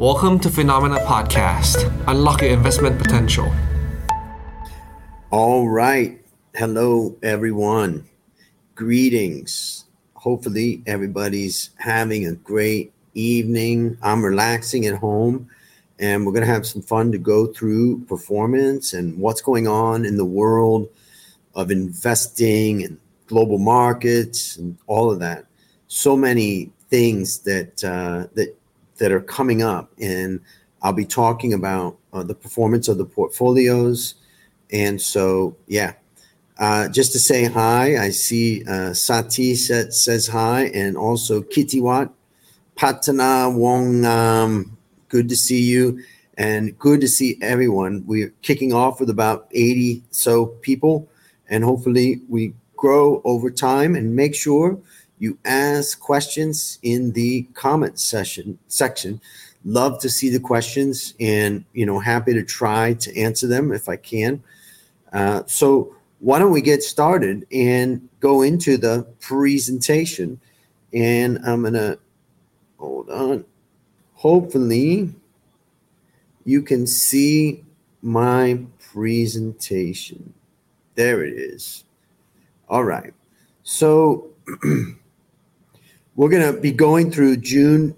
Welcome to Phenomena Podcast. Unlock your investment potential. All right. Hello, everyone. Greetings. Hopefully, everybody's having a great evening. I'm relaxing at home, and we're going to have some fun to go through performance and what's going on in the world of investing and global markets and all of that. So many things that are coming up, and I'll be talking about the performance of the portfolios. And so, just to say hi, I see Sati says hi, and also Kitiwat, Patana Wong, good to see you, and good to see everyone. We're kicking off with about 80 so people, and hopefully we grow over time. And make sure you ask questions in the comment section. Love to see the questions, and happy to try to answer them if I can. So why don't we get started and go into the presentation? And I'm gonna hold on. Hopefully you can see my presentation. There it is. All right. So we're going to be going through June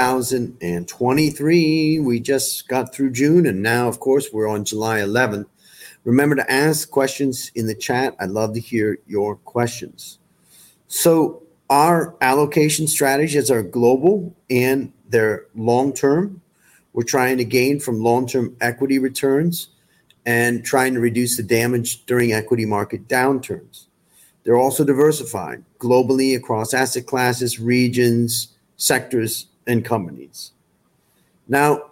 2023. We just got through June, and now, of course, we're on July 11th. Remember to ask questions in the chat. I'd love to hear your questions. So our allocation strategies are global and they're long-term. We're trying to gain from long-term equity returns and trying to reduce the damage during equity market downturns. They're also diversified globally across asset classes, regions, sectors, and companies. Now,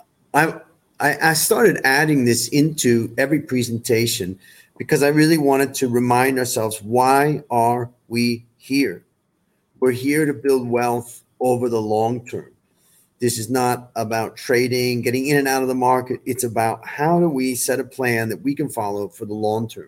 I started adding this into every presentation because I really wanted to remind ourselves, why are we here? We're here to build wealth over the long term. This is not about trading, getting in and out of the market. It's about how do we set a plan that we can follow for the long term.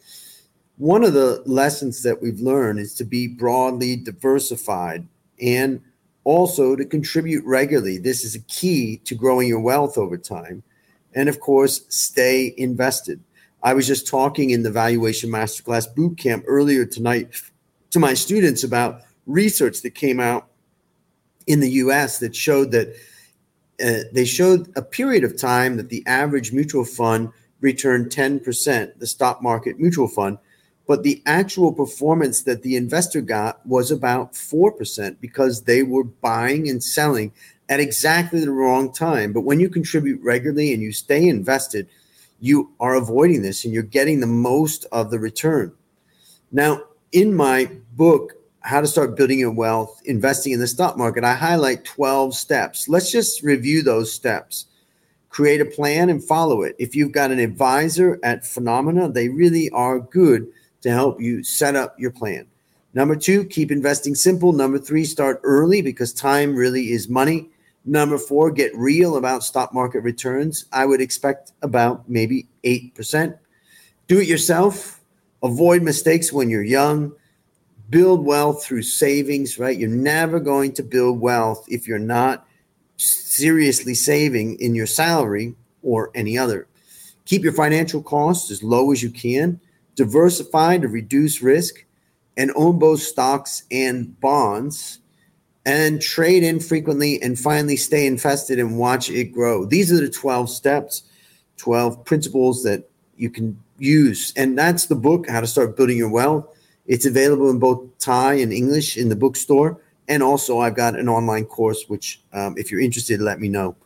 One of the lessons that we've learned is to be broadly diversified and also to contribute regularly. This is a key to growing your wealth over time. And of course, stay invested. I was just talking in the Valuation Masterclass Bootcamp earlier tonight to my students about research that came out in the US that showed that they showed a period of time that the average mutual fund returned 10%, the stock market mutual fund, but the actual performance that the investor got was about 4% because they were buying and selling at exactly the wrong time. But when you contribute regularly and you stay invested, you are avoiding this and you're getting the most of the return. Now, in my book, How to Start Building Your Wealth, Investing in the Stock Market, I highlight 12 steps. Let's just review those steps. Create a plan and follow it. If you've got an advisor at Phenomena, they really are good to help you set up your plan. Number 2, keep investing simple. Number 3, start early because time really is money. Number 4, get real about stock market returns. I would expect about maybe 8%. Do it yourself. Avoid mistakes when you're young. Build wealth through savings, right? You're never going to build wealth if you're not seriously saving in your salary or any other. Keep your financial costs as low as you can. Diversify to reduce risk, and own both stocks and bonds, and trade infrequently, and finally stay invested and watch it grow. These are the 12 steps, 12 principles that you can use. And that's the book, How to Start Building Your Wealth. It's available in both Thai and English in the bookstore. And also I've got an online course, which if you're interested, let me know.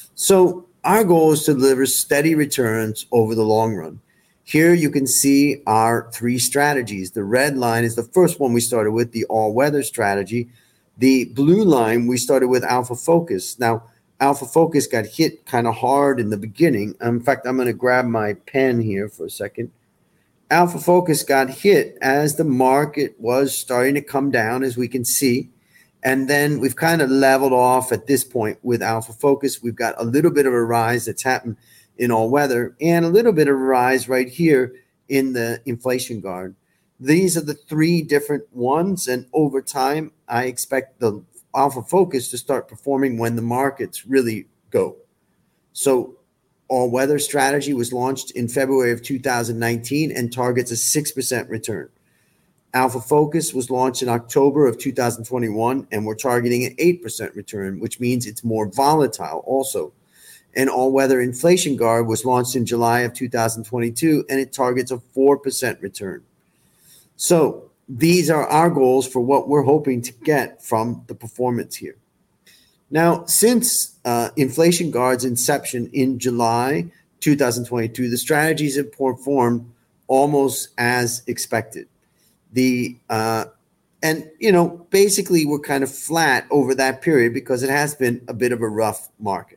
So our goal is to deliver steady returns over the long run. Here you can see our 3 strategies. The red line is the first one we started with, the all-weather strategy. The blue line, we started with Alpha Focus. Now, Alpha Focus got hit kind of hard in the beginning. In fact, I'm going to grab my pen here for a second. Alpha Focus got hit as the market was starting to come down, as we can see. And then we've kind of leveled off at this point with Alpha Focus. We've got a little bit of a rise that's happened in all weather and a little bit of a rise right here in the inflation guard. These are the 3 different ones. And over time, I expect the Alpha Focus to start performing when the markets really go. So All Weather Strategy was launched in February of 2019 and targets a 6% return. Alpha Focus was launched in October of 2021, and we're targeting an 8% return, which means it's more volatile also. And All Weather Inflation Guard was launched in July of 2022, and it targets a 4% return. So these are our goals for what we're hoping to get from the performance here. Now, since Inflation Guard's inception in July 2022, the strategies have performed almost as expected. Basically we're kind of flat over that period because it has been a bit of a rough market.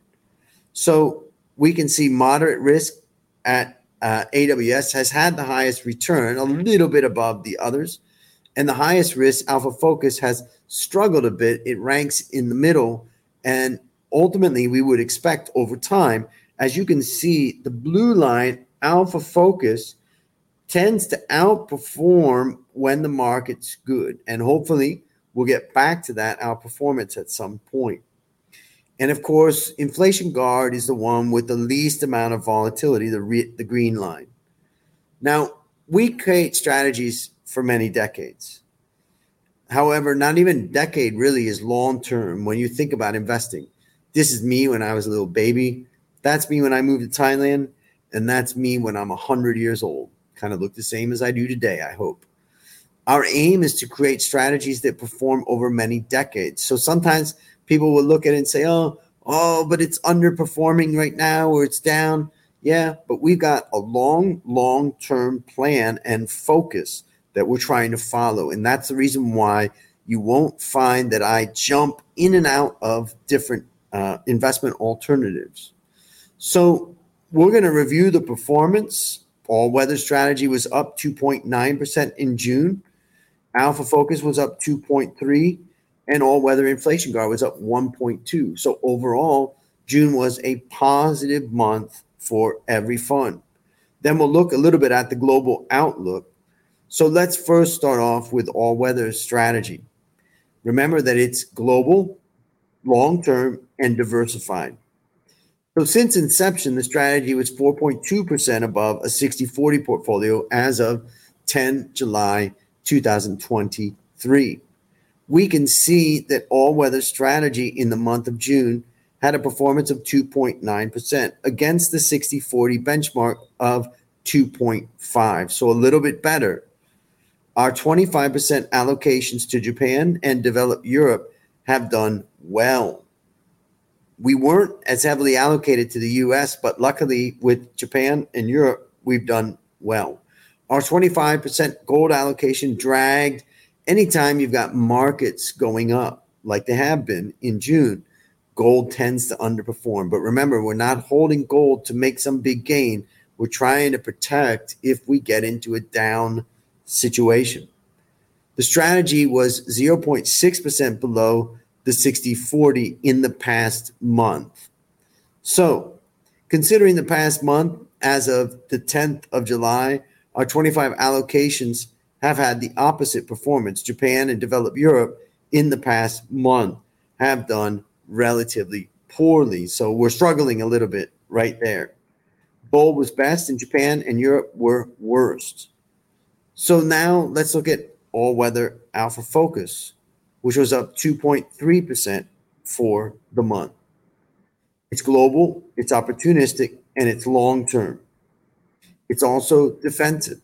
So we can see moderate risk at AWS has had the highest return, a little bit above the others. And the highest risk, Alpha Focus, has struggled a bit. It ranks in the middle. And ultimately, we would expect over time, as you can see, the blue line, Alpha Focus, tends to outperform when the market's good. And hopefully, we'll get back to that outperformance at some point. And of course, Inflation Guard is the one with the least amount of volatility, the green line. Now, we create strategies for many decades. However, not even a decade really is long term when you think about investing. This is me when I was a little baby. That's me when I moved to Thailand. And that's me when I'm 100 years old. Kind of look the same as I do today, I hope. Our aim is to create strategies that perform over many decades. So sometimes people will look at it and say, oh, but it's underperforming right now or it's down. Yeah, but we've got a long-term plan and focus that we're trying to follow. And that's the reason why you won't find that I jump in and out of different investment alternatives. So we're going to review the performance. All Weather Strategy was up 2.9% in June. Alpha Focus was up 2.3%. And All Weather Inflation Guard was up 1.2%. So overall, June was a positive month for every fund. Then we'll look a little bit at the global outlook. So let's first start off with All Weather Strategy. Remember that it's global, long-term, and diversified. So since inception, the strategy was 4.2% above a 60-40 portfolio as of 10 July 2023. We can see that All Weather Strategy in the month of June had a performance of 2.9% against the 60-40 benchmark of 2.5%, so a little bit better. Our 25% allocations to Japan and developed Europe have done well. We weren't as heavily allocated to the US, but luckily with Japan and Europe, we've done well. Our 25% gold allocation dragged. Anytime you've got markets going up like they have been in June, gold tends to underperform. But remember, we're not holding gold to make some big gain. We're trying to protect if we get into a down situation. The strategy was 0.6% below the 60-40 in the past month. So considering the past month, as of the 10th of July, our 25 allocations have had the opposite performance. Japan and developed Europe in the past month have done relatively poorly. So we're struggling a little bit right there. Gold was best and Japan and Europe were worst. So now let's look at All Weather Alpha Focus, which was up 2.3% for the month. It's global, it's opportunistic, and it's long-term. It's also defensive.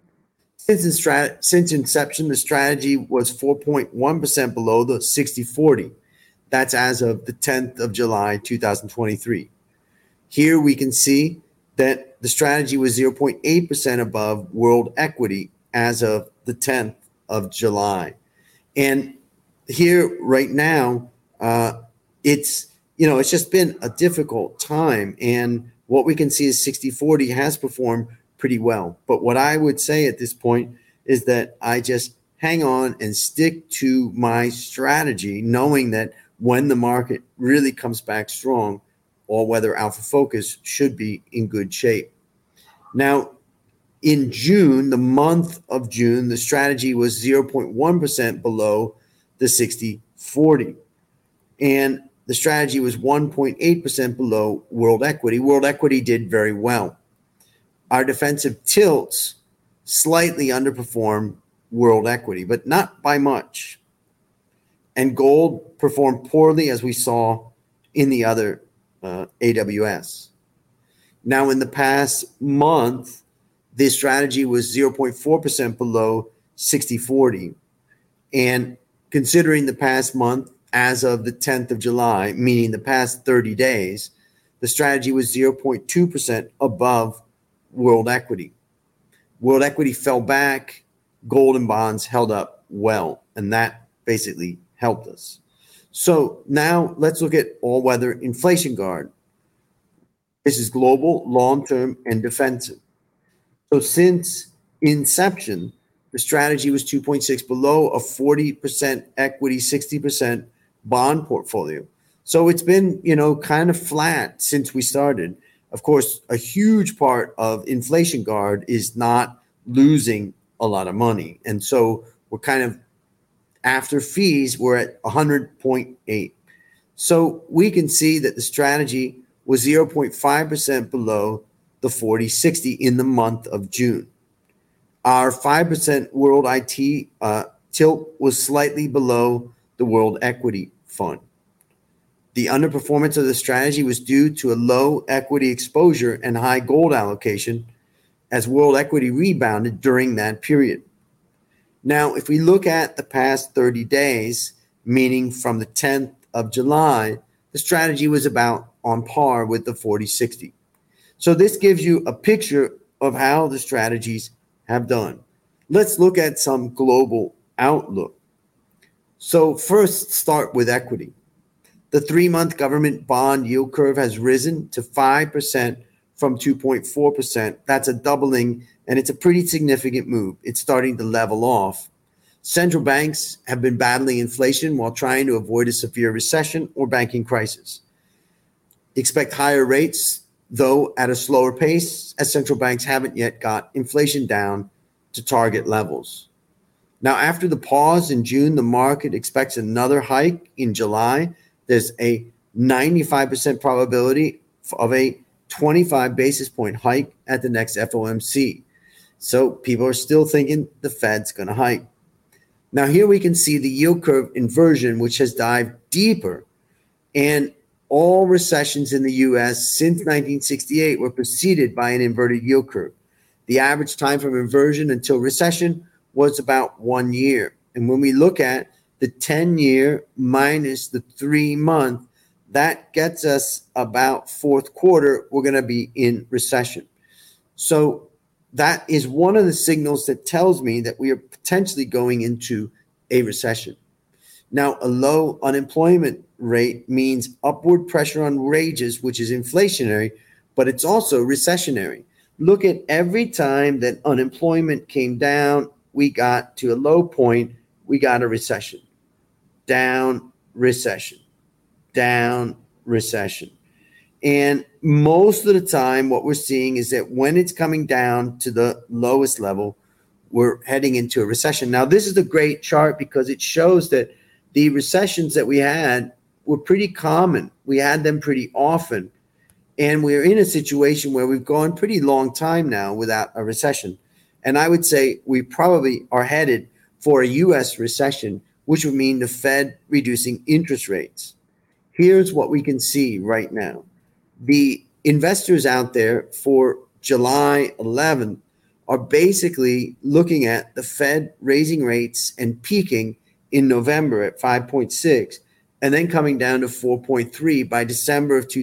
Since inception, the strategy was 4.1% below the 60-40. That's as of the 10th of July, 2023. Here we can see that the strategy was 0.8% above world equity as of the 10th of July. And here right now, it's just been a difficult time. And what we can see is 60-40 has performed pretty well. But what I would say at this point is that I just hang on and stick to my strategy, knowing that when the market really comes back strong, All Weather Alpha Focus should be in good shape. Now, in June, the month of June, the strategy was 0.1% below the 60-40. And the strategy was 1.8% below world equity. World equity did very well. Our defensive tilts slightly underperformed world equity, but not by much. And gold performed poorly, as we saw in the other AWS. Now, in the past month, this strategy was 0.4% below 60/40. And considering the past month, as of the 10th of July, meaning the past 30 days, the strategy was 0.2% above world equity. World equity fell back, gold and bonds held up well, and that basically helped us. So now let's look at all-weather inflation guard. This is global, long-term, and defensive. So since inception, the strategy was 2.6 below a 40% equity, 60% bond portfolio. So it's been, kind of flat since we started. Of course, a huge part of inflation guard is not losing a lot of money. And so we're kind of, after fees, we're at 100.8. So we can see that the strategy was 0.5% below the 40/60 in the month of June. Our 5% world IT tilt was slightly below the world equity fund. The underperformance of the strategy was due to a low equity exposure and high gold allocation as world equity rebounded during that period. Now, if we look at the past 30 days, meaning from the 10th of July, the strategy was about on par with the 40/60. So this gives you a picture of how the strategies have done. Let's look at some global outlook. So first, start with equity. The 3-month government bond yield curve has risen to 5% from 2.4%. That's a doubling, and it's a pretty significant move. It's starting to level off. Central banks have been battling inflation while trying to avoid a severe recession or banking crisis. Expect higher rates, though at a slower pace, as central banks haven't yet got inflation down to target levels. Now, after the pause in June, the market expects another hike in July. There's a 95% probability of a 25 basis point hike at the next FOMC. So people are still thinking the Fed's going to hike. Now, here we can see the yield curve inversion, which has dived deeper. And all recessions in the U.S. since 1968 were preceded by an inverted yield curve. The average time from inversion until recession was about 1 year. And when we look at the 10-year minus the 3-month, that gets us about fourth quarter, we're going to be in recession. So that is one of the signals that tells me that we are potentially going into a recession. Now, a low unemployment rate means upward pressure on wages, which is inflationary, but it's also recessionary. Look at every time that unemployment came down, we got to a low point, we got a recession. Down, recession. Down, recession. And most of the time, what we're seeing is that when it's coming down to the lowest level, we're heading into a recession. Now, this is a great chart because it shows that the recessions that we had were pretty common. We had them pretty often. And we're in a situation where we've gone pretty long time now without a recession. And I would say we probably are headed for a U.S. recession, which would mean the Fed reducing interest rates. Here's what we can see right now. The investors out there for July 11th are basically looking at the Fed raising rates and peaking in November at 5.6 and then coming down to 4.3 by December of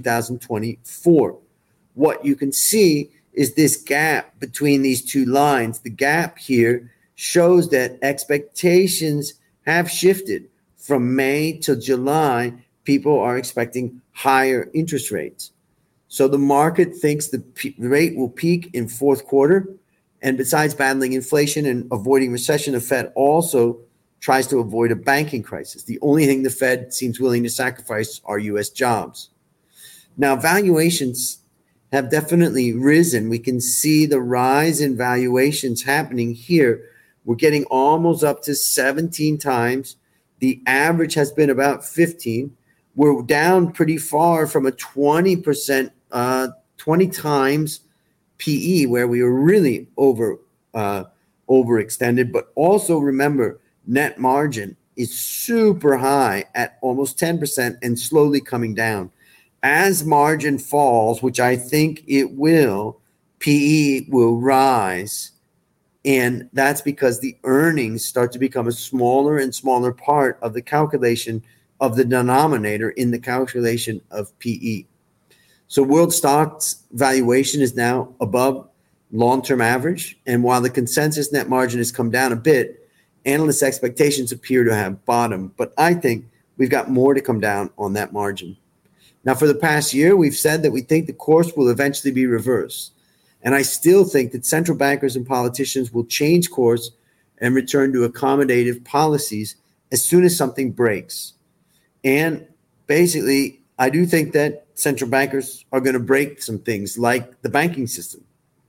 2024. What you can see is this gap between these two lines. The gap here shows that expectations have shifted from May to July. People are expecting higher interest rates. So the market thinks the rate will peak in fourth quarter. And besides battling inflation and avoiding recession, the Fed also tries to avoid a banking crisis. The only thing the Fed seems willing to sacrifice are U.S. jobs. Now, valuations have definitely risen. We can see the rise in valuations happening here. We're getting almost up to 17 times. The average has been about 15. we're down pretty far from a 20%, 20 times PE, where we were really overextended. But also remember, net margin is super high at almost 10% and slowly coming down. As margin falls, which I think it will, PE will rise. And that's because the earnings start to become a smaller and smaller part of the calculation of the denominator in the calculation of PE. So world stocks valuation is now above long-term average. And while the consensus net margin has come down a bit, analysts' expectations appear to have bottomed. But I think we've got more to come down on that margin. Now, for the past year, we've said that we think the course will eventually be reversed. And I still think that central bankers and politicians will change course and return to accommodative policies as soon as something breaks. And basically, I do think that central bankers are going to break some things like the banking system.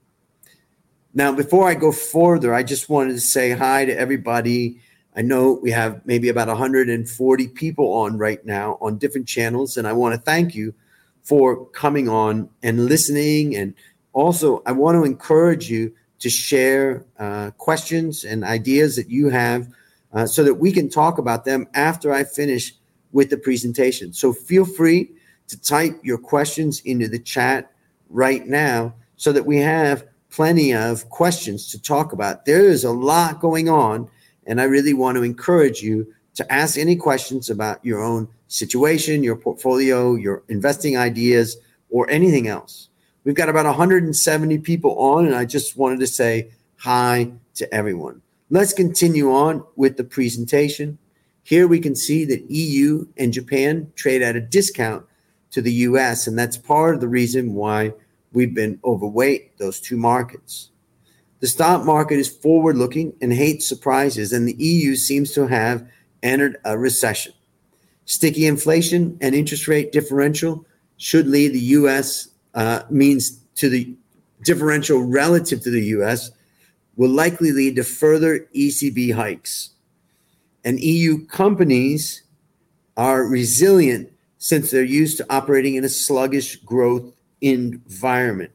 Now, before I go further, I just wanted to say hi to everybody. I know we have maybe about 140 people on right now on different channels, and I want to thank you for coming on and listening. And also, I want to encourage you to share questions and ideas that you have so that we can talk about them after I finish with the presentation. So feel free to type your questions into the chat right now so that we have plenty of questions to talk about. There is a lot going on, and I really want to encourage you to ask any questions about your own situation, your portfolio, your investing ideas, or anything else. We've got about 170 people on, and I just wanted to say hi to everyone. Let's continue on with the presentation. Here we can see that EU and Japan trade at a discount to the US, and that's part of the reason why we've been overweight those two markets. The stock market is forward-looking and hates surprises, and the EU seems to have entered a recession. Sticky inflation and interest rate differential should lead the U.S. means to the differential relative to the U.S. will likely lead to further ECB hikes. And EU companies are resilient since they're used to operating in a sluggish growth environment.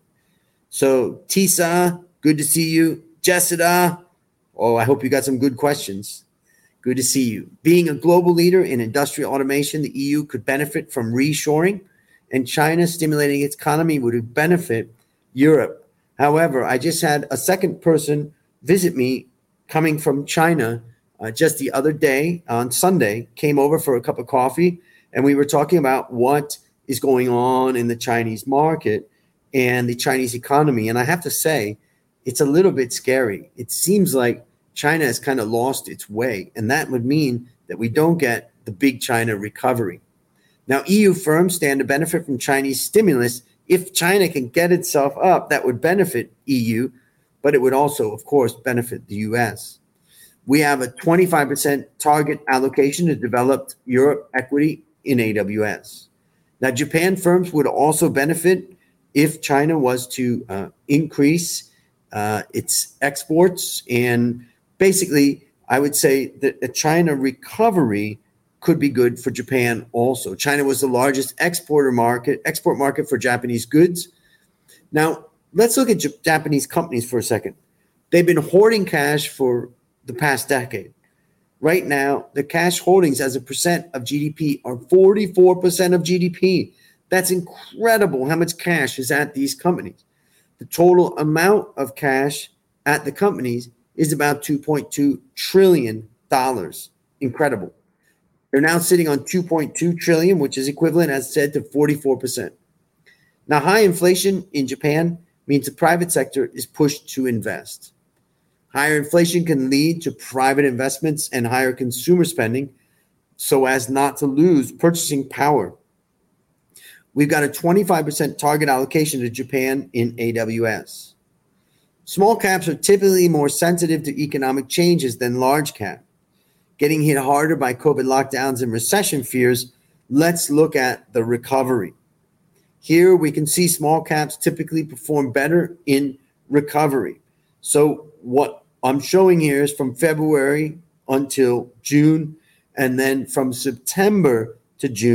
So Tisa, good to see you. Jessica, I hope you got some good questions. Good to see you. Being a global leader in industrial automation, the EU could benefit from reshoring, and China stimulating its economy would benefit Europe. However, I just had a second person visit me coming from China just the other day on Sunday, came over for a cup of coffee, and we were talking about what is going on in the Chinese market and the Chinese economy. And I have to say, it's a little bit scary. It seems like China has kind of lost its way, and that would mean that we don't get the big China recovery. Now, EU firms stand to benefit from Chinese stimulus. If China can get itself up, that would benefit EU, but it would also, of course, benefit the US. We have a 25% target allocation to developed Europe equity in AWS. Now, Japan firms would also benefit if China was to increase its exports. And basically, I would say that a China recovery could be good for Japan also. China was the largest export market for Japanese goods. Now, let's look at Japanese companies for a second. They've been hoarding cash for the past decade. Right now, the cash holdings as a percent of GDP are 44% of GDP. That's incredible how much cash is at these companies. The total amount of cash at the companies is about $2.2 trillion. Incredible. They're now sitting on $2.2 trillion, which is equivalent, as said, to 44%. Now, high inflation in Japan means the private sector is pushed to invest. Higher inflation can lead to private investments and higher consumer spending so as not to lose purchasing power. We've got a 25% target allocation to Japan in AWS. Small caps are typically more sensitive to economic changes than large cap. Getting hit harder by COVID lockdowns and recession fears, let's look at the recovery. Here we can see small caps typically perform better in recovery. So what I'm showing here is from February until June, and then from September to June,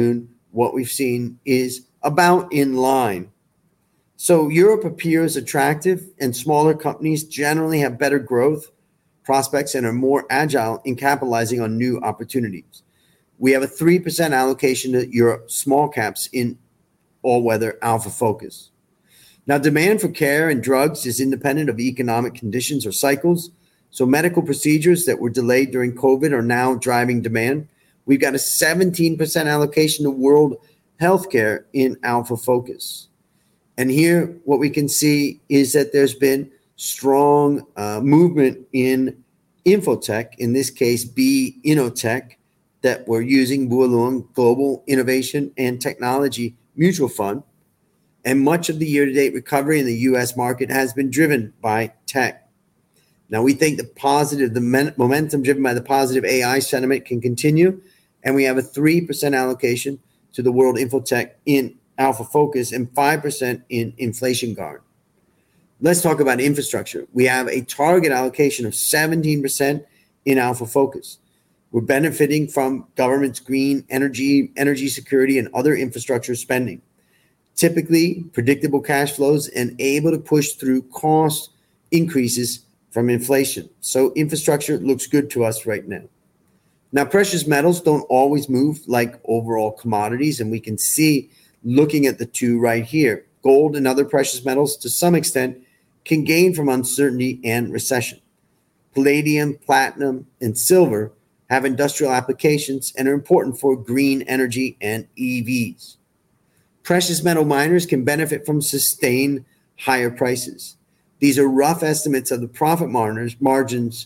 what we've seen is about in line. So Europe appears attractive, and smaller companies generally have better growth prospects and are more agile in capitalizing on new opportunities. We have a 3% allocation to Europe small caps in all-weather Alpha Focus. Now, demand for care and drugs is independent of economic conditions or cycles. So medical procedures that were delayed during COVID are now driving demand. We've got a 17% allocation to world healthcare in Alpha Focus. And here, what we can see is that there's been strong movement in infotech, in this case, B Innotech, that we're using Bualong Global Innovation and Technology Mutual Fund. And much of the year-to-date recovery in the U.S. market has been driven by tech. Now, we think the momentum driven by the positive AI sentiment can continue, and we have a 3% allocation to the world infotech in Alpha Focus and 5% in Inflation Guard. Let's talk about infrastructure. We have a target allocation of 17% in Alpha Focus. We're benefiting from government's green energy security, and other infrastructure spending. Typically, predictable cash flows and able to push through cost increases from inflation. So infrastructure looks good to us right now. Now, precious metals don't always move like overall commodities, and we can see, looking at the two right here, gold and other precious metals to some extent can gain from uncertainty and recession. Palladium, platinum, and silver have industrial applications and are important for green energy and EVs. Precious metal miners can benefit from sustained higher prices. These are rough estimates of the profit margins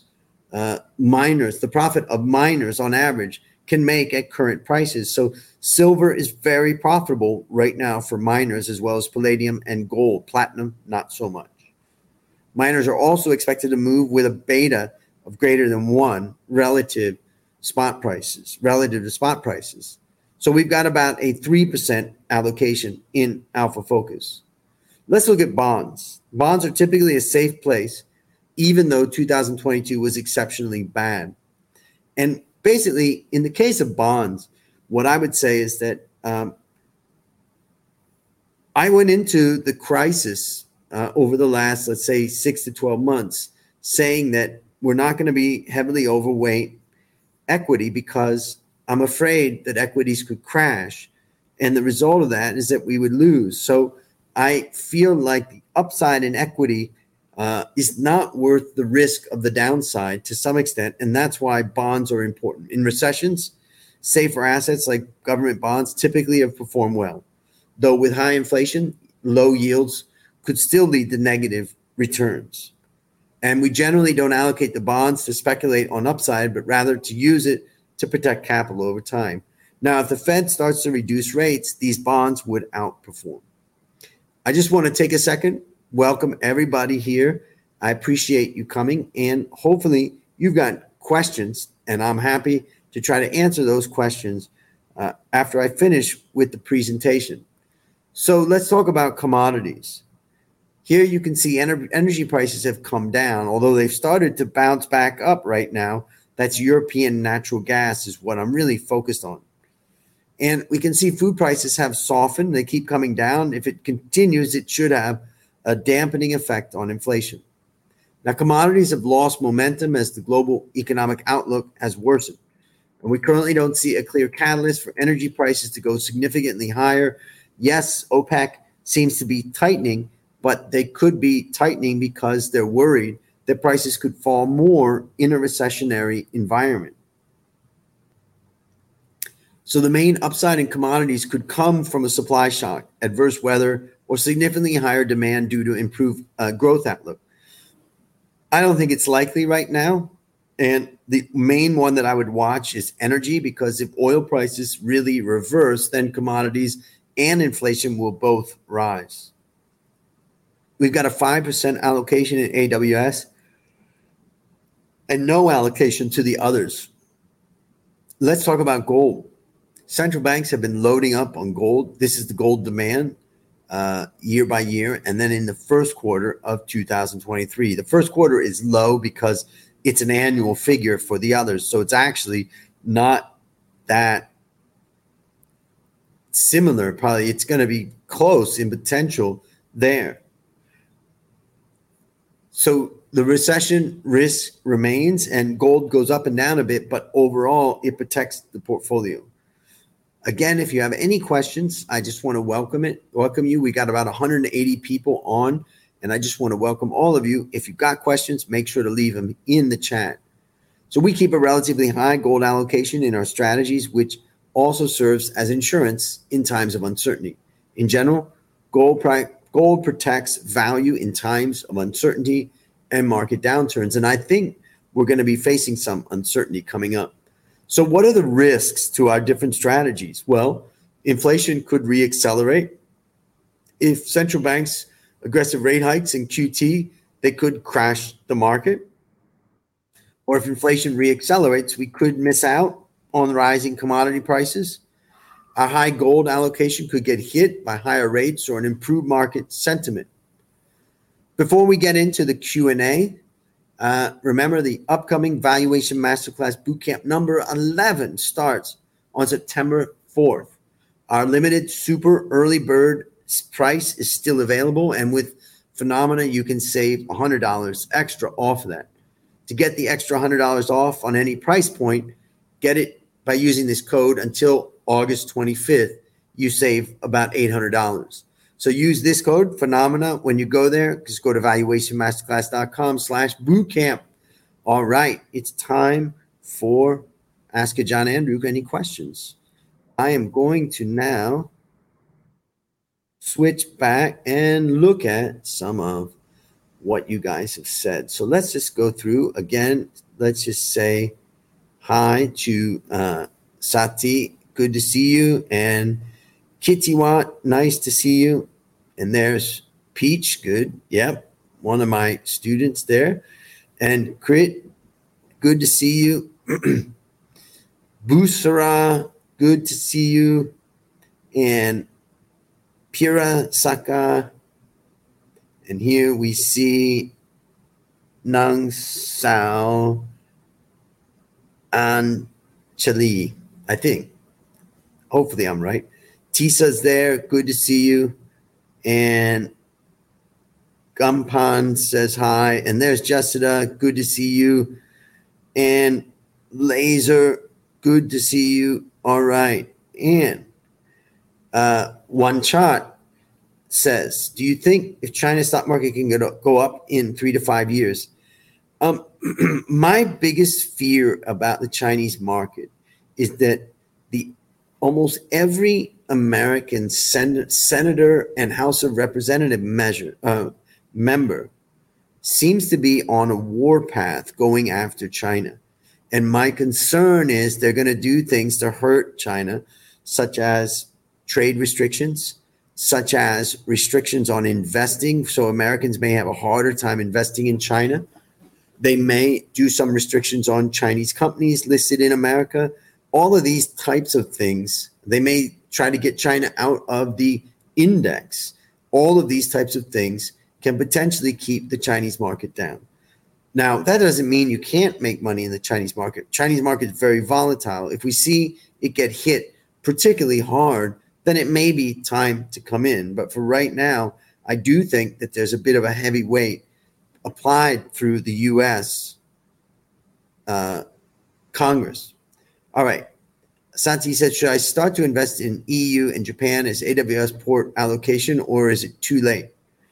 the profit of miners on average can make at current prices. So silver is very profitable right now for miners, as well as palladium and gold. Platinum, not so much. Miners are also expected to move with a beta of greater than 1 relative to spot prices. So we've got about a 3% allocation in Alpha Focus. Let's look at bonds. Bonds are typically a safe place, even though 2022 was exceptionally bad. And basically, in the case of bonds, what I would say is that I went into the crisis over the last, let's say, 6 to 12 months, saying that we're not going to be heavily overweight equity because I'm afraid that equities could crash. And the result of that is that we would lose. So I feel like the upside in equity is not worth the risk of the downside to some extent. And that's why bonds are important. In recessions, safer assets like government bonds typically have performed well. Though with high inflation, low yields could still lead to negative returns. And we generally don't allocate the bonds to speculate on upside, but rather to use it to protect capital over time. Now, if the Fed starts to reduce rates, these bonds would outperform. I just want to take a second, welcome everybody here. I appreciate you coming, and hopefully you've got questions, and I'm happy to try to answer those questions after I finish with the presentation. So let's talk about commodities. Here you can see energy prices have come down, although they've started to bounce back up right now. That's European natural gas is what I'm really focused on. And we can see food prices have softened. They keep coming down. If it continues, it should have a dampening effect on inflation. Now, commodities have lost momentum as the global economic outlook has worsened. And we currently don't see a clear catalyst for energy prices to go significantly higher. Yes, OPEC seems to be tightening, but they could be tightening because they're worried that prices could fall more in a recessionary environment. So the main upside in commodities could come from a supply shock, adverse weather, or significantly higher demand due to improved growth outlook. I don't think it's likely right now. And the main one that I would watch is energy, because if oil prices really reverse, then commodities and inflation will both rise. We've got a 5% allocation in AWS and no allocation to the others. Let's talk about gold. Central banks have been loading up on gold. This is the gold demand year by year. And then in the first quarter of 2023, the first quarter is low because it's an annual figure for the others. So it's actually not that similar. Probably it's going to be close in potential there. So the recession risk remains, and gold goes up and down a bit, but overall it protects the portfolio. Again, if you have any questions, I just want to welcome you. We got about 180 people on, and I just want to welcome all of you. If you've got questions, make sure to leave them in the chat. So we keep a relatively high gold allocation in our strategies, which also serves as insurance in times of uncertainty. In general, gold protects value in times of uncertainty and market downturns. And I think we're going to be facing some uncertainty coming up. So what are the risks to our different strategies? Well, inflation could reaccelerate. If central banks aggressive rate hikes in QT, they could crash the market. Or if inflation reaccelerates, we could miss out on rising commodity prices. Our high gold allocation could get hit by higher rates or an improved market sentiment. Before we get into the Q&A, remember the upcoming Valuation Masterclass Bootcamp number 11 starts on September 4th. Our limited super early bird price is still available, and with Phenomena, you can save $100 extra off of that. To get the extra $100 off on any price point, get it by using this code until August 25th. You save about $800. So use this code, Phenomena, when you go there. Just go to valuationmasterclass.com/bootcamp. All right, it's time for Ask a John Andrew. Any questions? I am going to now switch back and look at some of what you guys have said. So let's just go through again. Let's just say hi to Sati. Good to see you. And Kittiwat, nice to see you. And there's Peach, good. Yep, one of my students there. And Crit, good to see you. Busara, good to see you. And Pira Saka. And here we see Nang Sao and Chali, I think. Hopefully I'm right. Tisa's there. Good to see you. And Gumpan says hi. And there's Jessica. Good to see you. And Laser. Good to see you. All right. And One Chart says, do you think if China's stock market can go up in 3 to 5 years? My biggest fear about the Chinese market is that almost every American senator and House of Representative member seems to be on a war path going after China. And my concern is they're going to do things to hurt China, such as trade restrictions, such as restrictions on investing. So Americans may have a harder time investing in China. They may do some restrictions on Chinese companies listed in America. All of these types of things, they may try to get China out of the index. All of these types of things can potentially keep the Chinese market down. Now, that doesn't mean you can't make money in the Chinese market. Chinese market is very volatile. If we see it get hit particularly hard, then it may be time to come in. But for right now, I do think that there's a bit of a heavy weight applied through the U.S. Congress. All right. Santi said, should I start to invest in EU and Japan as AWS port allocation, or is it too late?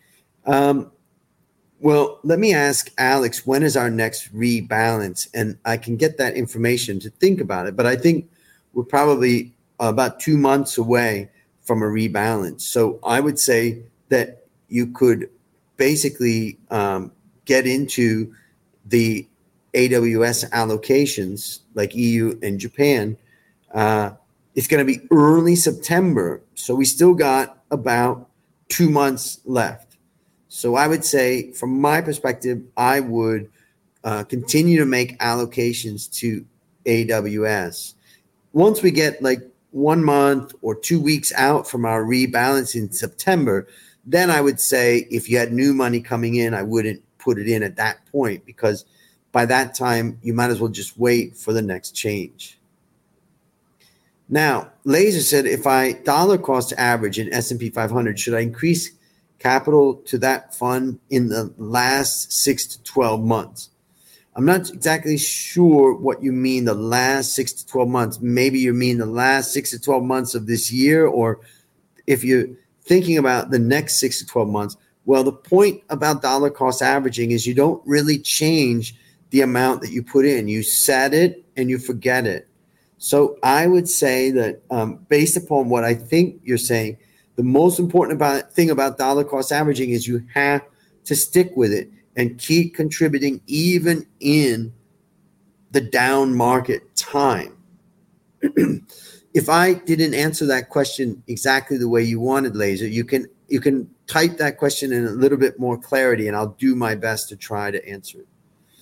Well, let me ask Alex, when is our next rebalance? And I can get that information to think about it. But I think we're probably about 2 months away from a rebalance. So I would say that you could basically get into the AWS allocations like EU and Japan. It's going to be early September. So we still got about 2 months left. So I would say, from my perspective, I would continue to make allocations to AWS. Once we get like 1 month or 2 weeks out from our rebalance in September, then I would say if you had new money coming in, I wouldn't put it in at that point, because by that time, you might as well just wait for the next change. Now, Laser said, if I dollar cost average in S&P 500, should I increase capital to that fund in the last 6 to 12 months? I'm not exactly sure what you mean the last 6 to 12 months. Maybe you mean the last 6 to 12 months of this year, or if you're thinking about the next 6 to 12 months. Well, the point about dollar cost averaging is you don't really change the amount that you put in. You set it and you forget it. So I would say that based upon what I think you're saying, the most important thing about dollar cost averaging is you have to stick with it and keep contributing even in the down market time. If I didn't answer that question exactly the way you wanted, Laser, you can type that question in a little bit more clarity, and I'll do my best to try to answer it.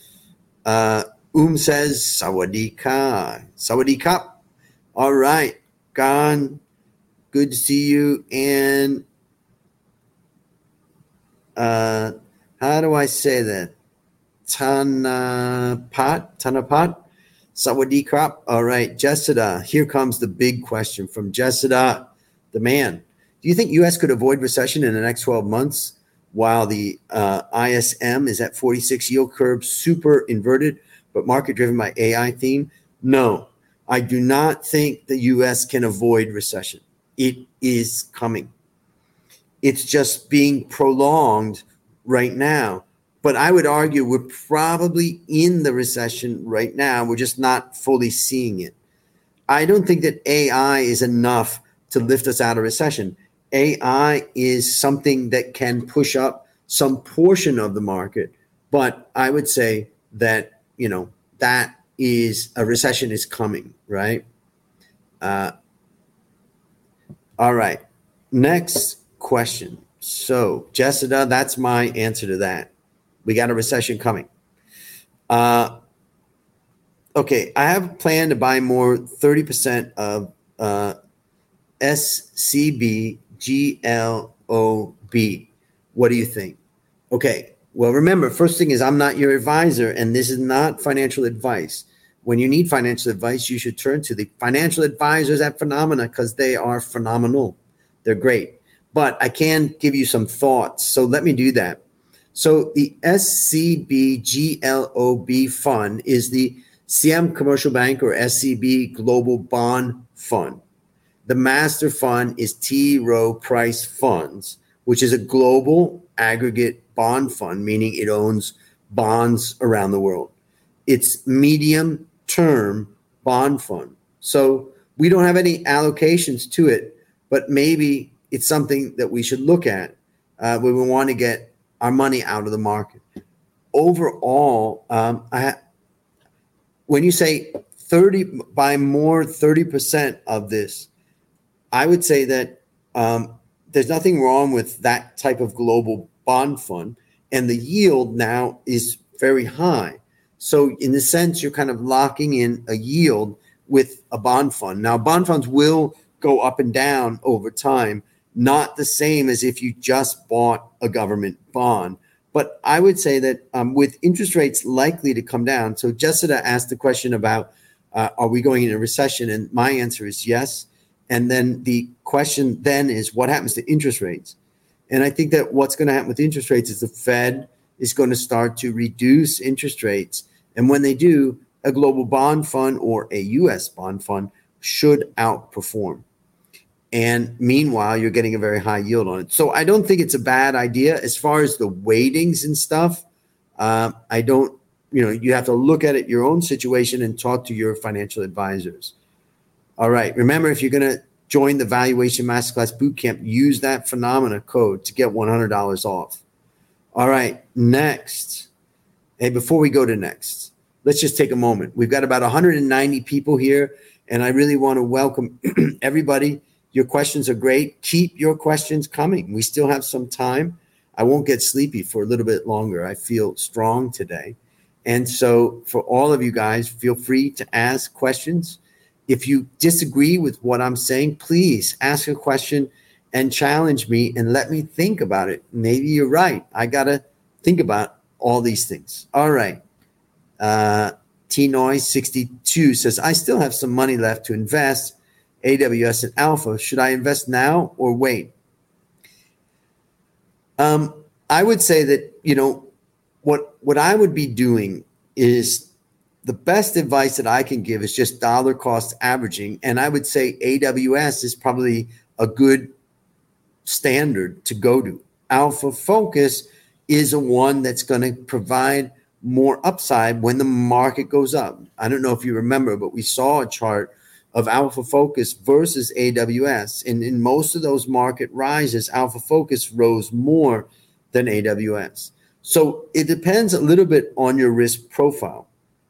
Says, Sawadee ka. Sawadee ka. All right. Gan, good to see you. And how do I say that? Tanapat? Sawadee krap. All right. Jessida, here comes the big question from Jessida, the man. Do you think U.S. could avoid recession in the next 12 months while the ISM is at 46 yield curve, super inverted, but market driven by AI theme? No, I do not think the U.S. can avoid recession. It is coming. It's just being prolonged right now. But I would argue we're probably in the recession right now. We're just not fully seeing it. I don't think that AI is enough to lift us out of recession. AI is something that can push up some portion of the market. But I would say that, that is a recession is coming, right? All right. Next question. So, Jessica, that's my answer to that. We got a recession coming. Okay, I have a plan to buy more 30% of SCB GLOB. What do you think? Okay, well, remember, first thing is I'm not your advisor, and this is not financial advice. When you need financial advice, you should turn to the financial advisors at Phenomena because they are phenomenal. They're great. But I can give you some thoughts, so let me do that. So the SCB-GLOB fund is the Siam Commercial Bank or SCB Global Bond Fund. The master fund is T. Rowe Price Funds, which is a global aggregate bond fund, meaning it owns bonds around the world. It's medium-term bond fund. So we don't have any allocations to it, but maybe it's something that we should look at when we want to get our money out of the market. Overall, when you say 30% of this, I would say that there's nothing wrong with that type of global bond fund, and the yield now is very high. So in the sense, you're kind of locking in a yield with a bond fund. Now, bond funds will go up and down over time, not the same as if you just bought a government bond. But I would say that with interest rates likely to come down, so Jessica asked the question about, are we going into a recession? And my answer is yes. And then the question then is, what happens to interest rates? And I think that what's going to happen with interest rates is the Fed is going to start to reduce interest rates. And when they do, a global bond fund or a U.S. bond fund should outperform. And meanwhile, you're getting a very high yield on it. So I don't think it's a bad idea. As far as the weightings and stuff, I don't, you have to look at it, your own situation, and talk to your financial advisors. All right. Remember, if you're going to join the Valuation Masterclass Bootcamp, use that Phenomena code to get $100 off. All right. Next. Hey, before we go to next, let's just take a moment. We've got about 190 people here, and I really want to welcome everybody. Your questions are great. Keep your questions coming. We still have some time. I won't get sleepy for a little bit longer. I feel strong today. And so for all of you guys, feel free to ask questions. If you disagree with what I'm saying, please ask a question and challenge me and let me think about it. Maybe you're right. I got to think about all these things. All right. T-Noise 62 says, I still have some money left to invest AWS and Alpha. Should I invest now or wait? I would say that, what I would be doing is the best advice that I can give is just dollar cost averaging. And I would say AWS is probably a good standard to go to. Alpha Focus is a one that's going to provide more upside when the market goes up. I don't know if you remember, but we saw a chart of Alpha Focus versus AWS. And in most of those market rises, Alpha Focus rose more than AWS. So it depends a little bit on your risk profile.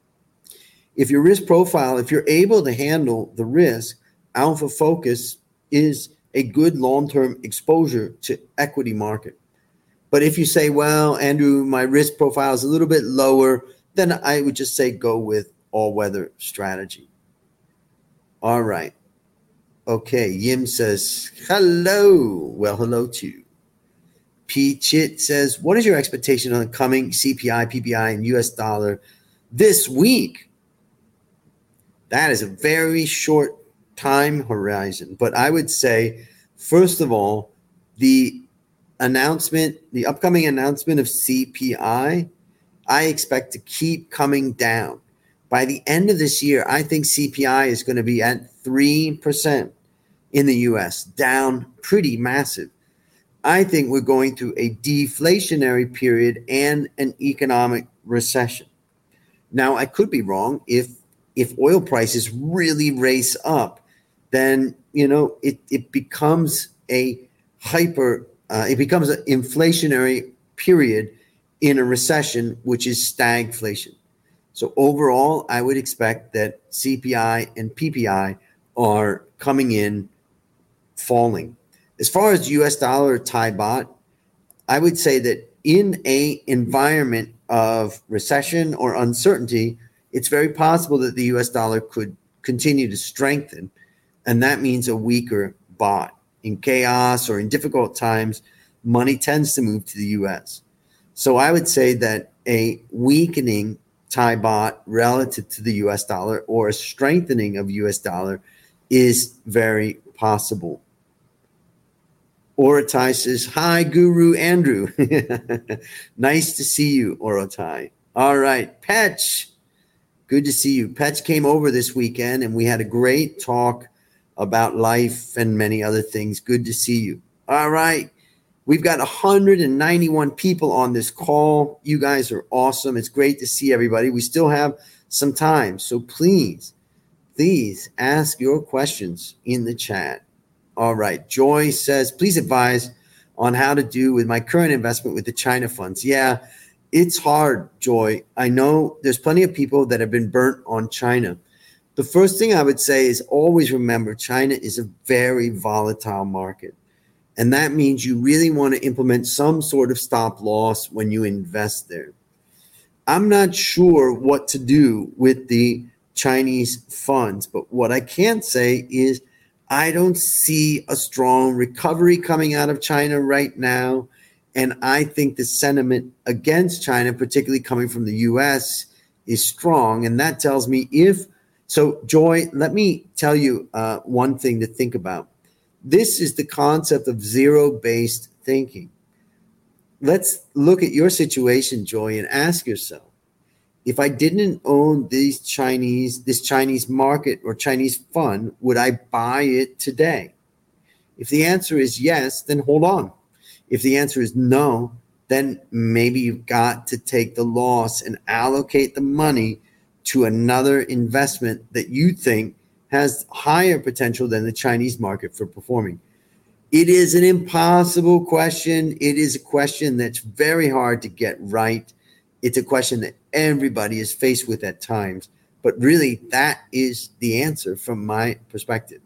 If your risk profile, if you're able to handle the risk, Alpha Focus is a good long-term exposure to equity market. But if you say, well, Andrew, my risk profile is a little bit lower, then I would just say go with all-weather strategy. All right. Okay. Yim says, hello. Well, hello to you. P. Chit says, what is your expectation on the coming CPI, PPI, and US dollar this week? That is a very short time horizon. But I would say, first of all, the upcoming announcement of CPI, I expect to keep coming down. By the end of this year, I think CPI is going to be at 3% in the US, down pretty massive. I think we're going through a deflationary period and an economic recession. Now, I could be wrong. If oil prices really race up, then it becomes it becomes an inflationary period in a recession, which is stagflation. So overall, I would expect that CPI and PPI are coming in falling. As far as US dollar or Thai baht, I would say that in a environment of recession or uncertainty, it's very possible that the US dollar could continue to strengthen, and that means a weaker baht. In chaos or in difficult times, money tends to move to the US. So I would say that a weakening Thai baht relative to the US dollar or a strengthening of US dollar is very possible. Orotai says, hi, Guru Andrew. Nice to see you, Orotai. All right, Petch. Good to see you. Petch came over this weekend, and we had a great talk about life and many other things. Good to see you. All right. We've got 191 people on this call. You guys are awesome. It's great to see everybody. We still have some time. So please ask your questions in the chat. All right. Joy says, please advise on how to do with my current investment with the China funds. Yeah, it's hard, Joy. I know there's plenty of people that have been burnt on China. The first thing I would say is always remember China is a very volatile market. And that means you really want to implement some sort of stop loss when you invest there. I'm not sure what to do with the Chinese funds, but what I can say is I don't see a strong recovery coming out of China right now. And I think the sentiment against China, particularly coming from the US, is strong. And that tells me so, Joy, let me tell you one thing to think about. This is the concept of zero-based thinking. Let's look at your situation, Joy, and ask yourself, if I didn't own this Chinese market or Chinese fund, would I buy it today? If the answer is yes, then hold on. If the answer is no, then maybe you've got to take the loss and allocate the money to another investment that you think has higher potential than the Chinese market for performing. It is an impossible question. It is a question that's very hard to get right. It's a question that everybody is faced with at times. But really, that is the answer from my perspective.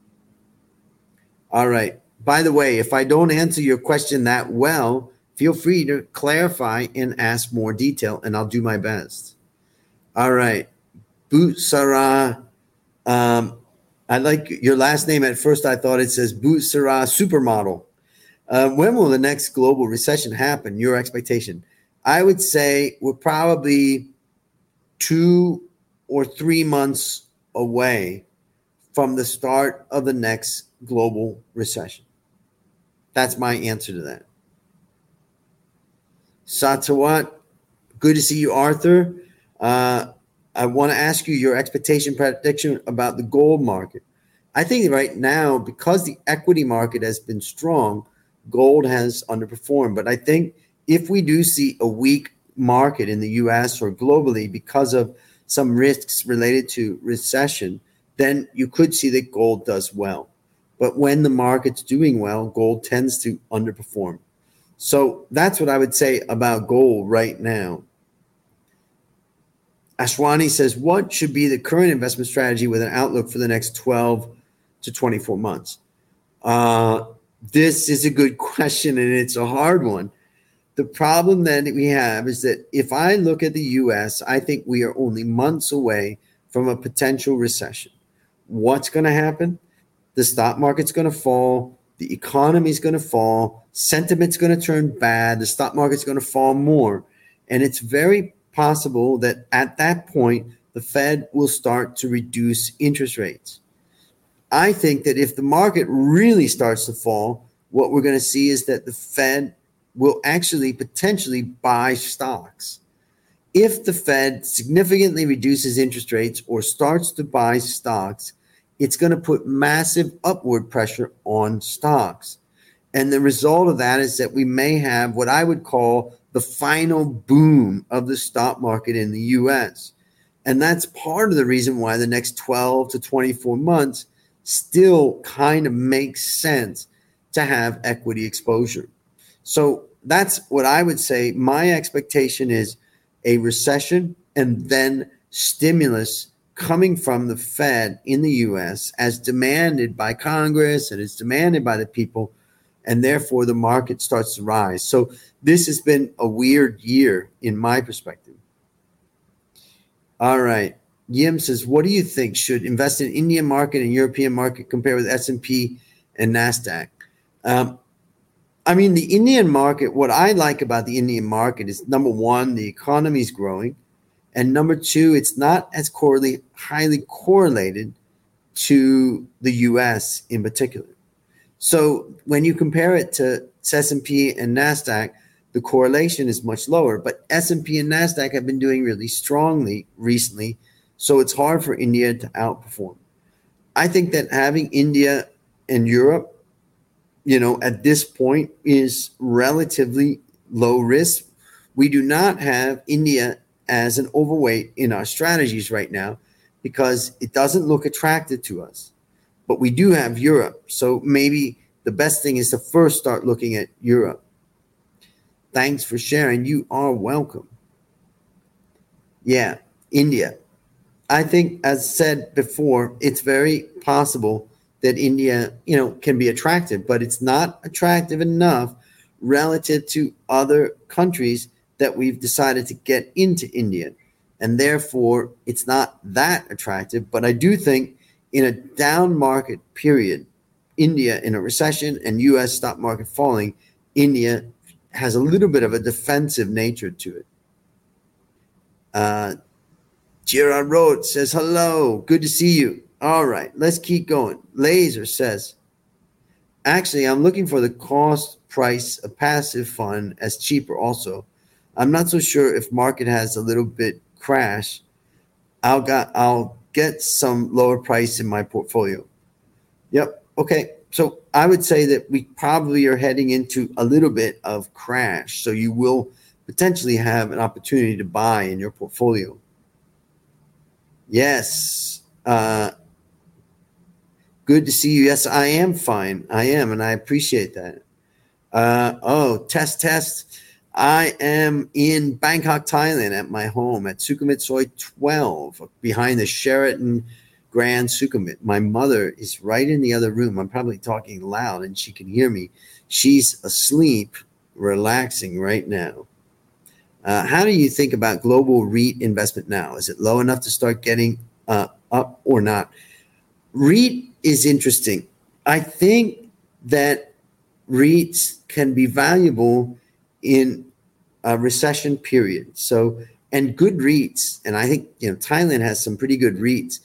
All right. By the way, if I don't answer your question that well, feel free to clarify and ask more detail, and I'll do my best. All right. Butsara. I like your last name. At first, I thought it says Butsara Supermodel. When will the next global recession happen? Your expectation? I would say we're probably 2 or 3 months away from the start of the next global recession. That's my answer to that. Satawat, good to see you, Arthur. I want to ask you your expectation prediction about the gold market. I think right now, because the equity market has been strong, gold has underperformed. But I think if we do see a weak market in the US or globally because of some risks related to recession, then you could see that gold does well. But when the market's doing well, gold tends to underperform. So that's what I would say about gold right now. Ashwani says, what should be the current investment strategy with an outlook for the next 12 to 24 months? This is a good question, and it's a hard one. The problem that we have is that if I look at the US, I think we are only months away from a potential recession. What's going to happen? The stock market's going to fall. The economy's going to fall. Sentiment's going to turn bad. The stock market's going to fall more. And it's very possible that at that point, the Fed will start to reduce interest rates. I think that if the market really starts to fall, what we're going to see is that the Fed will actually potentially buy stocks. If the Fed significantly reduces interest rates or starts to buy stocks, it's going to put massive upward pressure on stocks. And the result of that is that we may have what I would call the final boom of the stock market in the US. And that's part of the reason why the next 12 to 24 months still kind of makes sense to have equity exposure. So that's what I would say. My expectation is a recession and then stimulus coming from the Fed in the US as demanded by Congress and as demanded by the people, and therefore the market starts to rise. So this has been a weird year in my perspective. All right. Yim says, what do you think? Should invest in Indian market and European market compare with S&P and NASDAQ? I mean, the Indian market, what I like about the Indian market is, number one, the economy is growing. And number two, it's not as highly correlated to the US in particular. So when you compare it to S&P and NASDAQ, the correlation is much lower. But S&P and NASDAQ have been doing really strongly recently, so it's hard for India to outperform. I think that having India and Europe, at this point is relatively low risk. We do not have India as an overweight in our strategies right now because it doesn't look attractive to us. But we do have Europe. So maybe the best thing is to first start looking at Europe. Thanks for sharing. You are welcome. Yeah, India. I think, as said before, it's very possible that India, can be attractive, but it's not attractive enough relative to other countries that we've decided to get into India. And therefore, it's not that attractive. But I do think in a down market period, India in a recession and US stock market falling, India has a little bit of a defensive nature to it. Gerard Rhodes says, hello, good to see you. All right, let's keep going. Laser says, actually, I'm looking for the cost price of passive fund as cheaper also. I'm not so sure if market has a little bit crash. I'll get some lower price in my portfolio. Yep. Okay. So I would say that we probably are heading into a little bit of crash. So you will potentially have an opportunity to buy in your portfolio. Yes. Good to see you. Yes, I am fine. I am, and I appreciate that. Test. I am in Bangkok, Thailand at my home at Sukhumvit Soi 12 behind the Sheraton Grand Sukhumvit. My mother is right in the other room. I'm probably talking loud and she can hear me. She's asleep, relaxing right now. How do you think about global REIT investment now? Is it low enough to start getting up or not? REIT is interesting. I think that REITs can be valuable in a recession period. So, and good REITs, and I think Thailand has some pretty good REITs,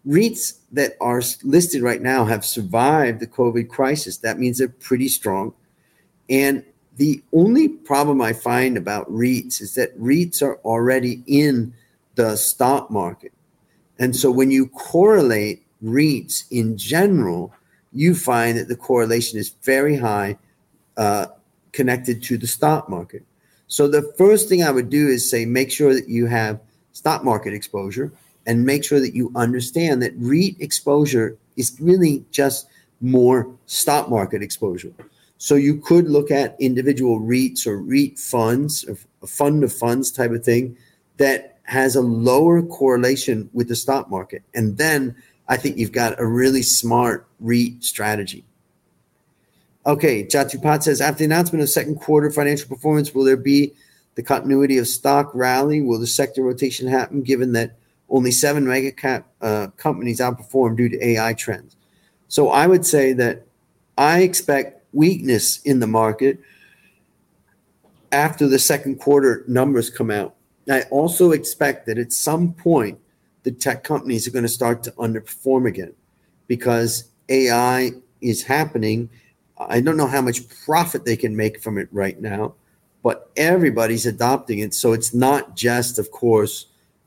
REITs that are listed right now have survived the COVID crisis. That means they're pretty strong. And the only problem I find about REITs is that REITs are already in the stock market. And so when you correlate REITs in general, you find that the correlation is very high connected to the stock market. So the first thing I would do is say, make sure that you have stock market exposure and make sure that you understand that REIT exposure is really just more stock market exposure. So you could look at individual REITs or REIT funds, or a fund of funds type of thing that has a lower correlation with the stock market. And then I think you've got a really smart REIT strategy. Okay, Jatupat says, after the announcement of second quarter financial performance, will there be the continuity of stock rally? Will the sector rotation happen given that only 7 mega cap companies outperform due to AI trends? So I would say that I expect weakness in the market after the second quarter numbers come out. I also expect that at some point, the tech companies are going to start to underperform again because AI is happening. I don't know how much profit they can make from it right now, but everybody's adopting it. So it's not just, of course,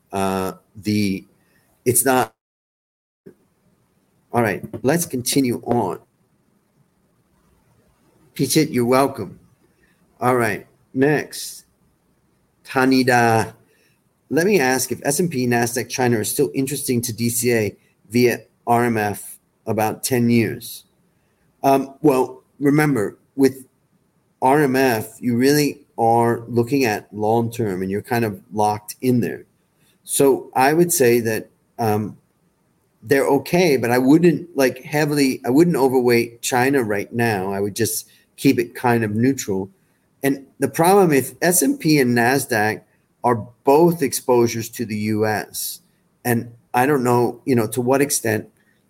it's not. All right, let's continue on. Pichit, you're welcome. All right, next. Tanida. Let me ask if S&P, NASDAQ, China are still interesting to DCA via RMF about 10 years. Well, remember, with RMF, you really are looking at long-term and you're kind of locked in there. So I would say that they're okay, but I wouldn't I wouldn't overweight China right now. I would just keep it kind of neutral. And the problem, if S&P and NASDAQ are both exposures to the U.S., and I don't know, to what extent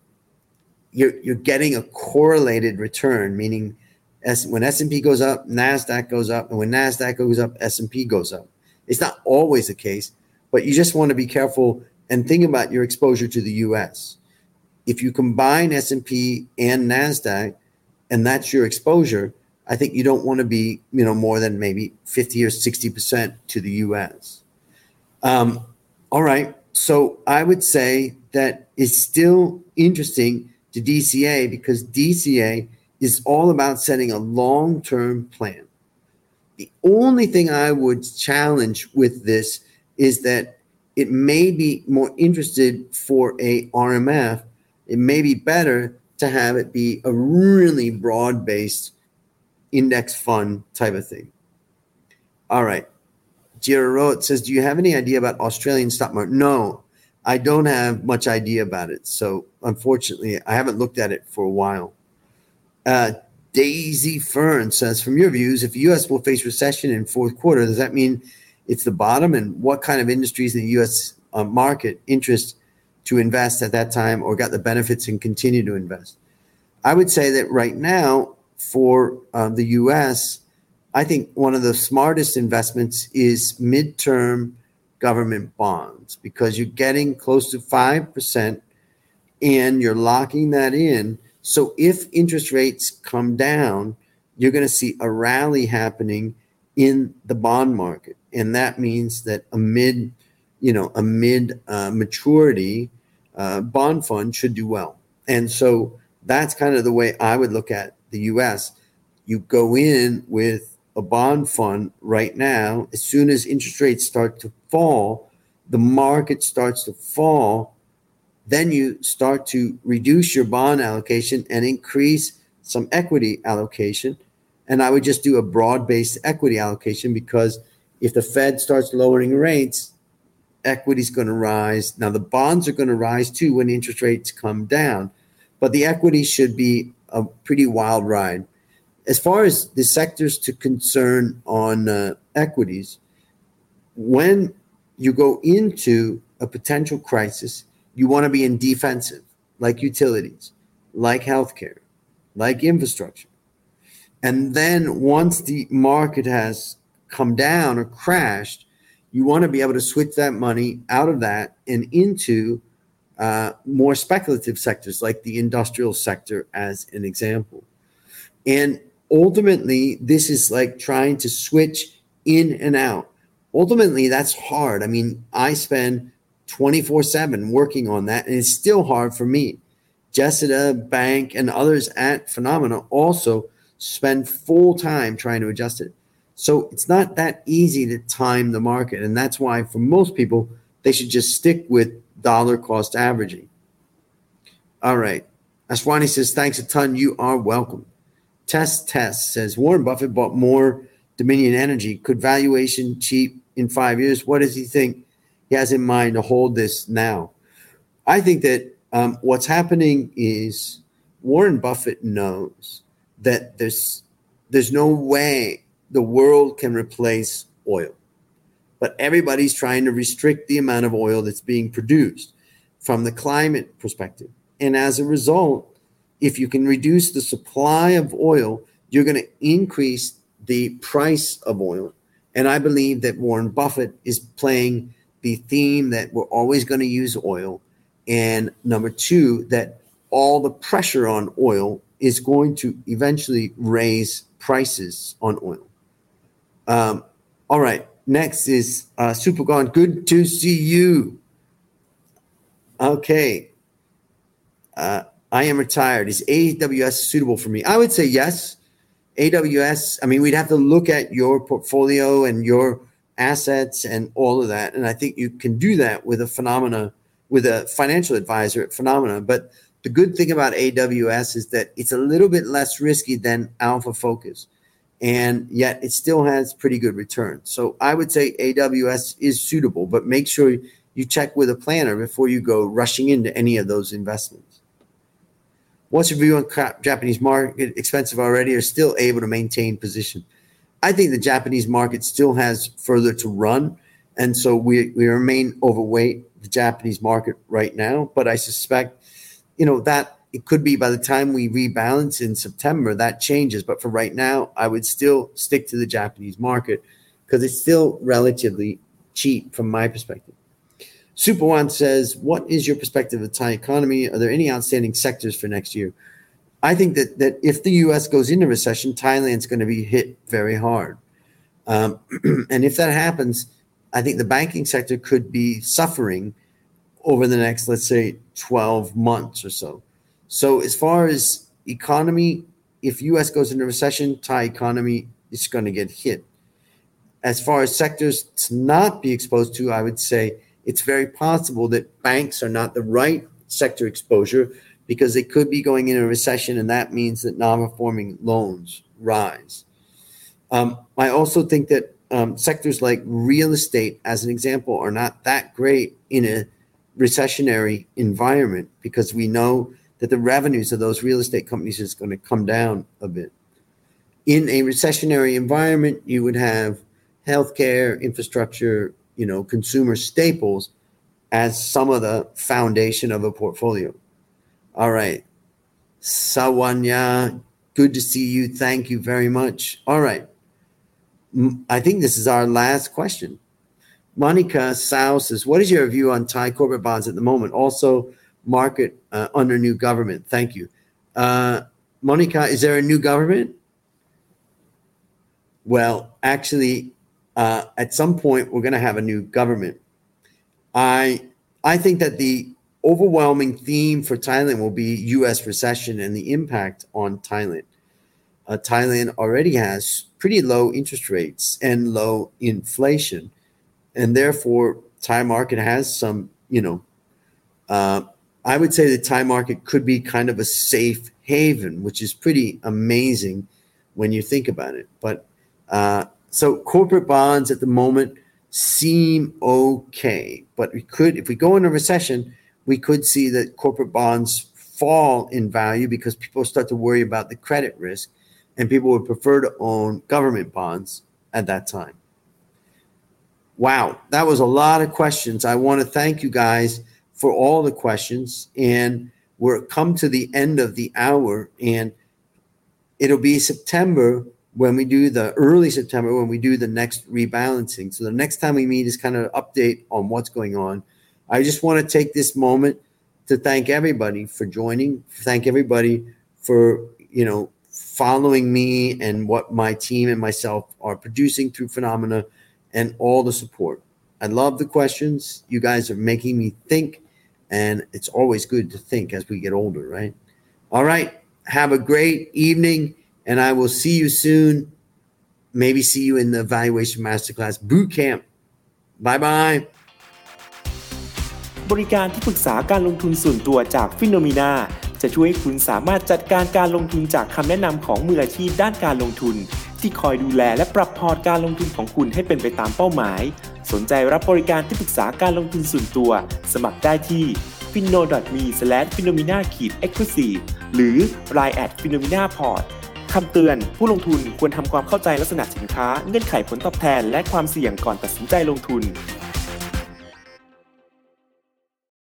you're getting a correlated return, meaning when S&P goes up, NASDAQ goes up, and when NASDAQ goes up, S&P goes up. It's not always the case, but you just want to be careful and think about your exposure to the U.S. If you combine S&P and NASDAQ, and that's your exposure, I think you don't want to be, more than maybe 50 or 60% to the U.S. All right. So I would say that it's still interesting to DCA because DCA is all about setting a long-term plan. The only thing I would challenge with this is that it may be more interested for a RMF. It may be better to have it be a really broad-based index fund type of thing. All right. Jirarot says, do you have any idea about Australian stock market? No, I don't have much idea about it. So unfortunately, I haven't looked at it for a while. Daisy Fern says, from your views, if the U.S. will face recession in fourth quarter, does that mean it's the bottom? And what kind of industries in the U.S. market interest to invest at that time or got the benefits and continue to invest? I would say that right now for the U.S., I think one of the smartest investments is midterm government bonds because you're getting close to 5% and you're locking that in. So if interest rates come down, you're going to see a rally happening in the bond market. And that means that a mid maturity bond fund should do well. And so that's kind of the way I would look at the U.S. You go in with a bond fund right now. As soon as interest rates start to fall, the market starts to fall, then you start to reduce your bond allocation and increase some equity allocation. And I would just do a broad-based equity allocation because if the Fed starts lowering rates, equity is going to rise. Now, the bonds are going to rise too when interest rates come down, but the equity should be a pretty wild ride. As far as the sectors to concern on equities, when you go into a potential crisis, you want to be in defensive, like utilities, like healthcare, like infrastructure. And then once the market has come down or crashed, you want to be able to switch that money out of that and into more speculative sectors like the industrial sector as an example. And ultimately, this is like trying to switch in and out. Ultimately, that's hard. I mean, I spend 24/7 working on that, and it's still hard for me. Jessica, Bank, and others at Phenomena also spend full time trying to adjust it. So it's not that easy to time the market. And that's why for most people, they should just stick with dollar cost averaging. All right. Aswani says, thanks a ton. You are welcome. Test says, Warren Buffett bought more Dominion Energy. Could valuation cheap in 5 years? What does he think he has in mind to hold this now? I think that what's happening is Warren Buffett knows that there's no way the world can replace oil. But everybody's trying to restrict the amount of oil that's being produced from the climate perspective. And as a result, if you can reduce the supply of oil, you're going to increase the price of oil. And I believe that Warren Buffett is playing the theme that we're always going to use oil. And number two, that all the pressure on oil is going to eventually raise prices on oil. All right. Next is Supergone. Good to see you. Okay. I am retired. Is AWS suitable for me? I would say yes. AWS, I mean, we'd have to look at your portfolio and your assets and all of that. And I think you can do that with a financial advisor at Phenomena. But the good thing about AWS is that it's a little bit less risky than Alpha Focus. And yet it still has pretty good returns. So I would say AWS is suitable, but make sure you check with a planner before you go rushing into any of those investments. What's your view on Japanese market? Expensive already, or still able to maintain position? I think the Japanese market still has further to run. And so we remain overweight the Japanese market right now. But I suspect, that it could be by the time we rebalance in September, that changes. But for right now, I would still stick to the Japanese market because it's still relatively cheap from my perspective. Superwan says, what is your perspective of the Thai economy? Are there any outstanding sectors for next year? I think that if the U.S. goes into recession, Thailand's going to be hit very hard. And if that happens, I think the banking sector could be suffering over the next, let's say, 12 months or so. So as far as economy, if U.S. goes into recession, Thai economy is going to get hit. As far as sectors to not be exposed to, I would say it's very possible that banks are not the right sector exposure because they could be going into a recession, and that means that non-performing loans rise. I also think that sectors like real estate, as an example, are not that great in a recessionary environment because we know that the revenues of those real estate companies is going to come down a bit. In a recessionary environment, you would have healthcare, infrastructure, consumer staples as some of the foundation of a portfolio. All right. Sawanya, good to see you. Thank you very much. All right. I think this is our last question. Monica Sao says, what is your view on Thai corporate bonds at the moment? Also, market under new government. Thank you. Monica, is there a new government? Well, actually, at some point, we're going to have a new government. I think that the overwhelming theme for Thailand will be U.S. recession and the impact on Thailand. Thailand already has pretty low interest rates and low inflation, and therefore Thai market has some, I would say the Thai market could be kind of a safe haven, which is pretty amazing when you think about it. But so corporate bonds at the moment seem okay, but if we go into a recession, we could see that corporate bonds fall in value because people start to worry about the credit risk, and people would prefer to own government bonds at that time. Wow, that was a lot of questions. I want to thank you guys for all the questions, and we're come to the end of the hour, and it'll be September early September when we do the next rebalancing. So the next time we meet is kind of an update on what's going on. I just want to take this moment to thank everybody for joining, thank everybody for, following me and what my team and myself are producing through Phenomena and all the support. I love the questions. You guys are making me think, and it's always good to think as we get older, right? All right. Have a great evening, and I will see you soon. Maybe see you in the Valuation Masterclass Boot Camp. Bye-bye. บริการที่ปรึกษาการลงทุนส่วนตัวจาก Phenomena จะช่วยให้คุณสามารถจัดการการลงทุนจากคำแนะนำของมืออาชีพด้านการลงทุนที่คอยดูแลและปรับพอร์ตการลงทุนของคุณให้เป็นไปตามเป้าหมายสนใจรับบริการที่ปรึกษาการลงทุนส่วนตัวสมัครได้ที่ finno.me/phenomena-exclusive หรือ line@phenomenaport คำเตือนผู้ลงทุนควรทำความเข้าใจลักษณะสินค้าเงื่อนไขผลตอบแทนและความเสี่ยงก่อนตัดสินใจลงทุน